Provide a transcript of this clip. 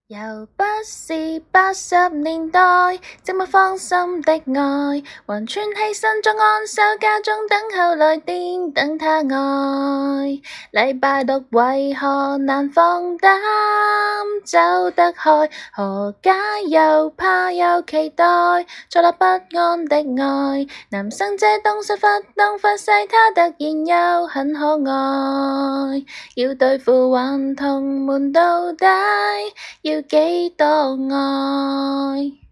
又不是80年代，寂寞芳心的愛，還穿起身裝安守家中等候來電等他愛。禮拜六為何難放膽走得開？何解又怕又期待，坐立不安的愛。男生這東西忽東忽西，他突然又很可愛。要對付頑童們到底要幾多愛？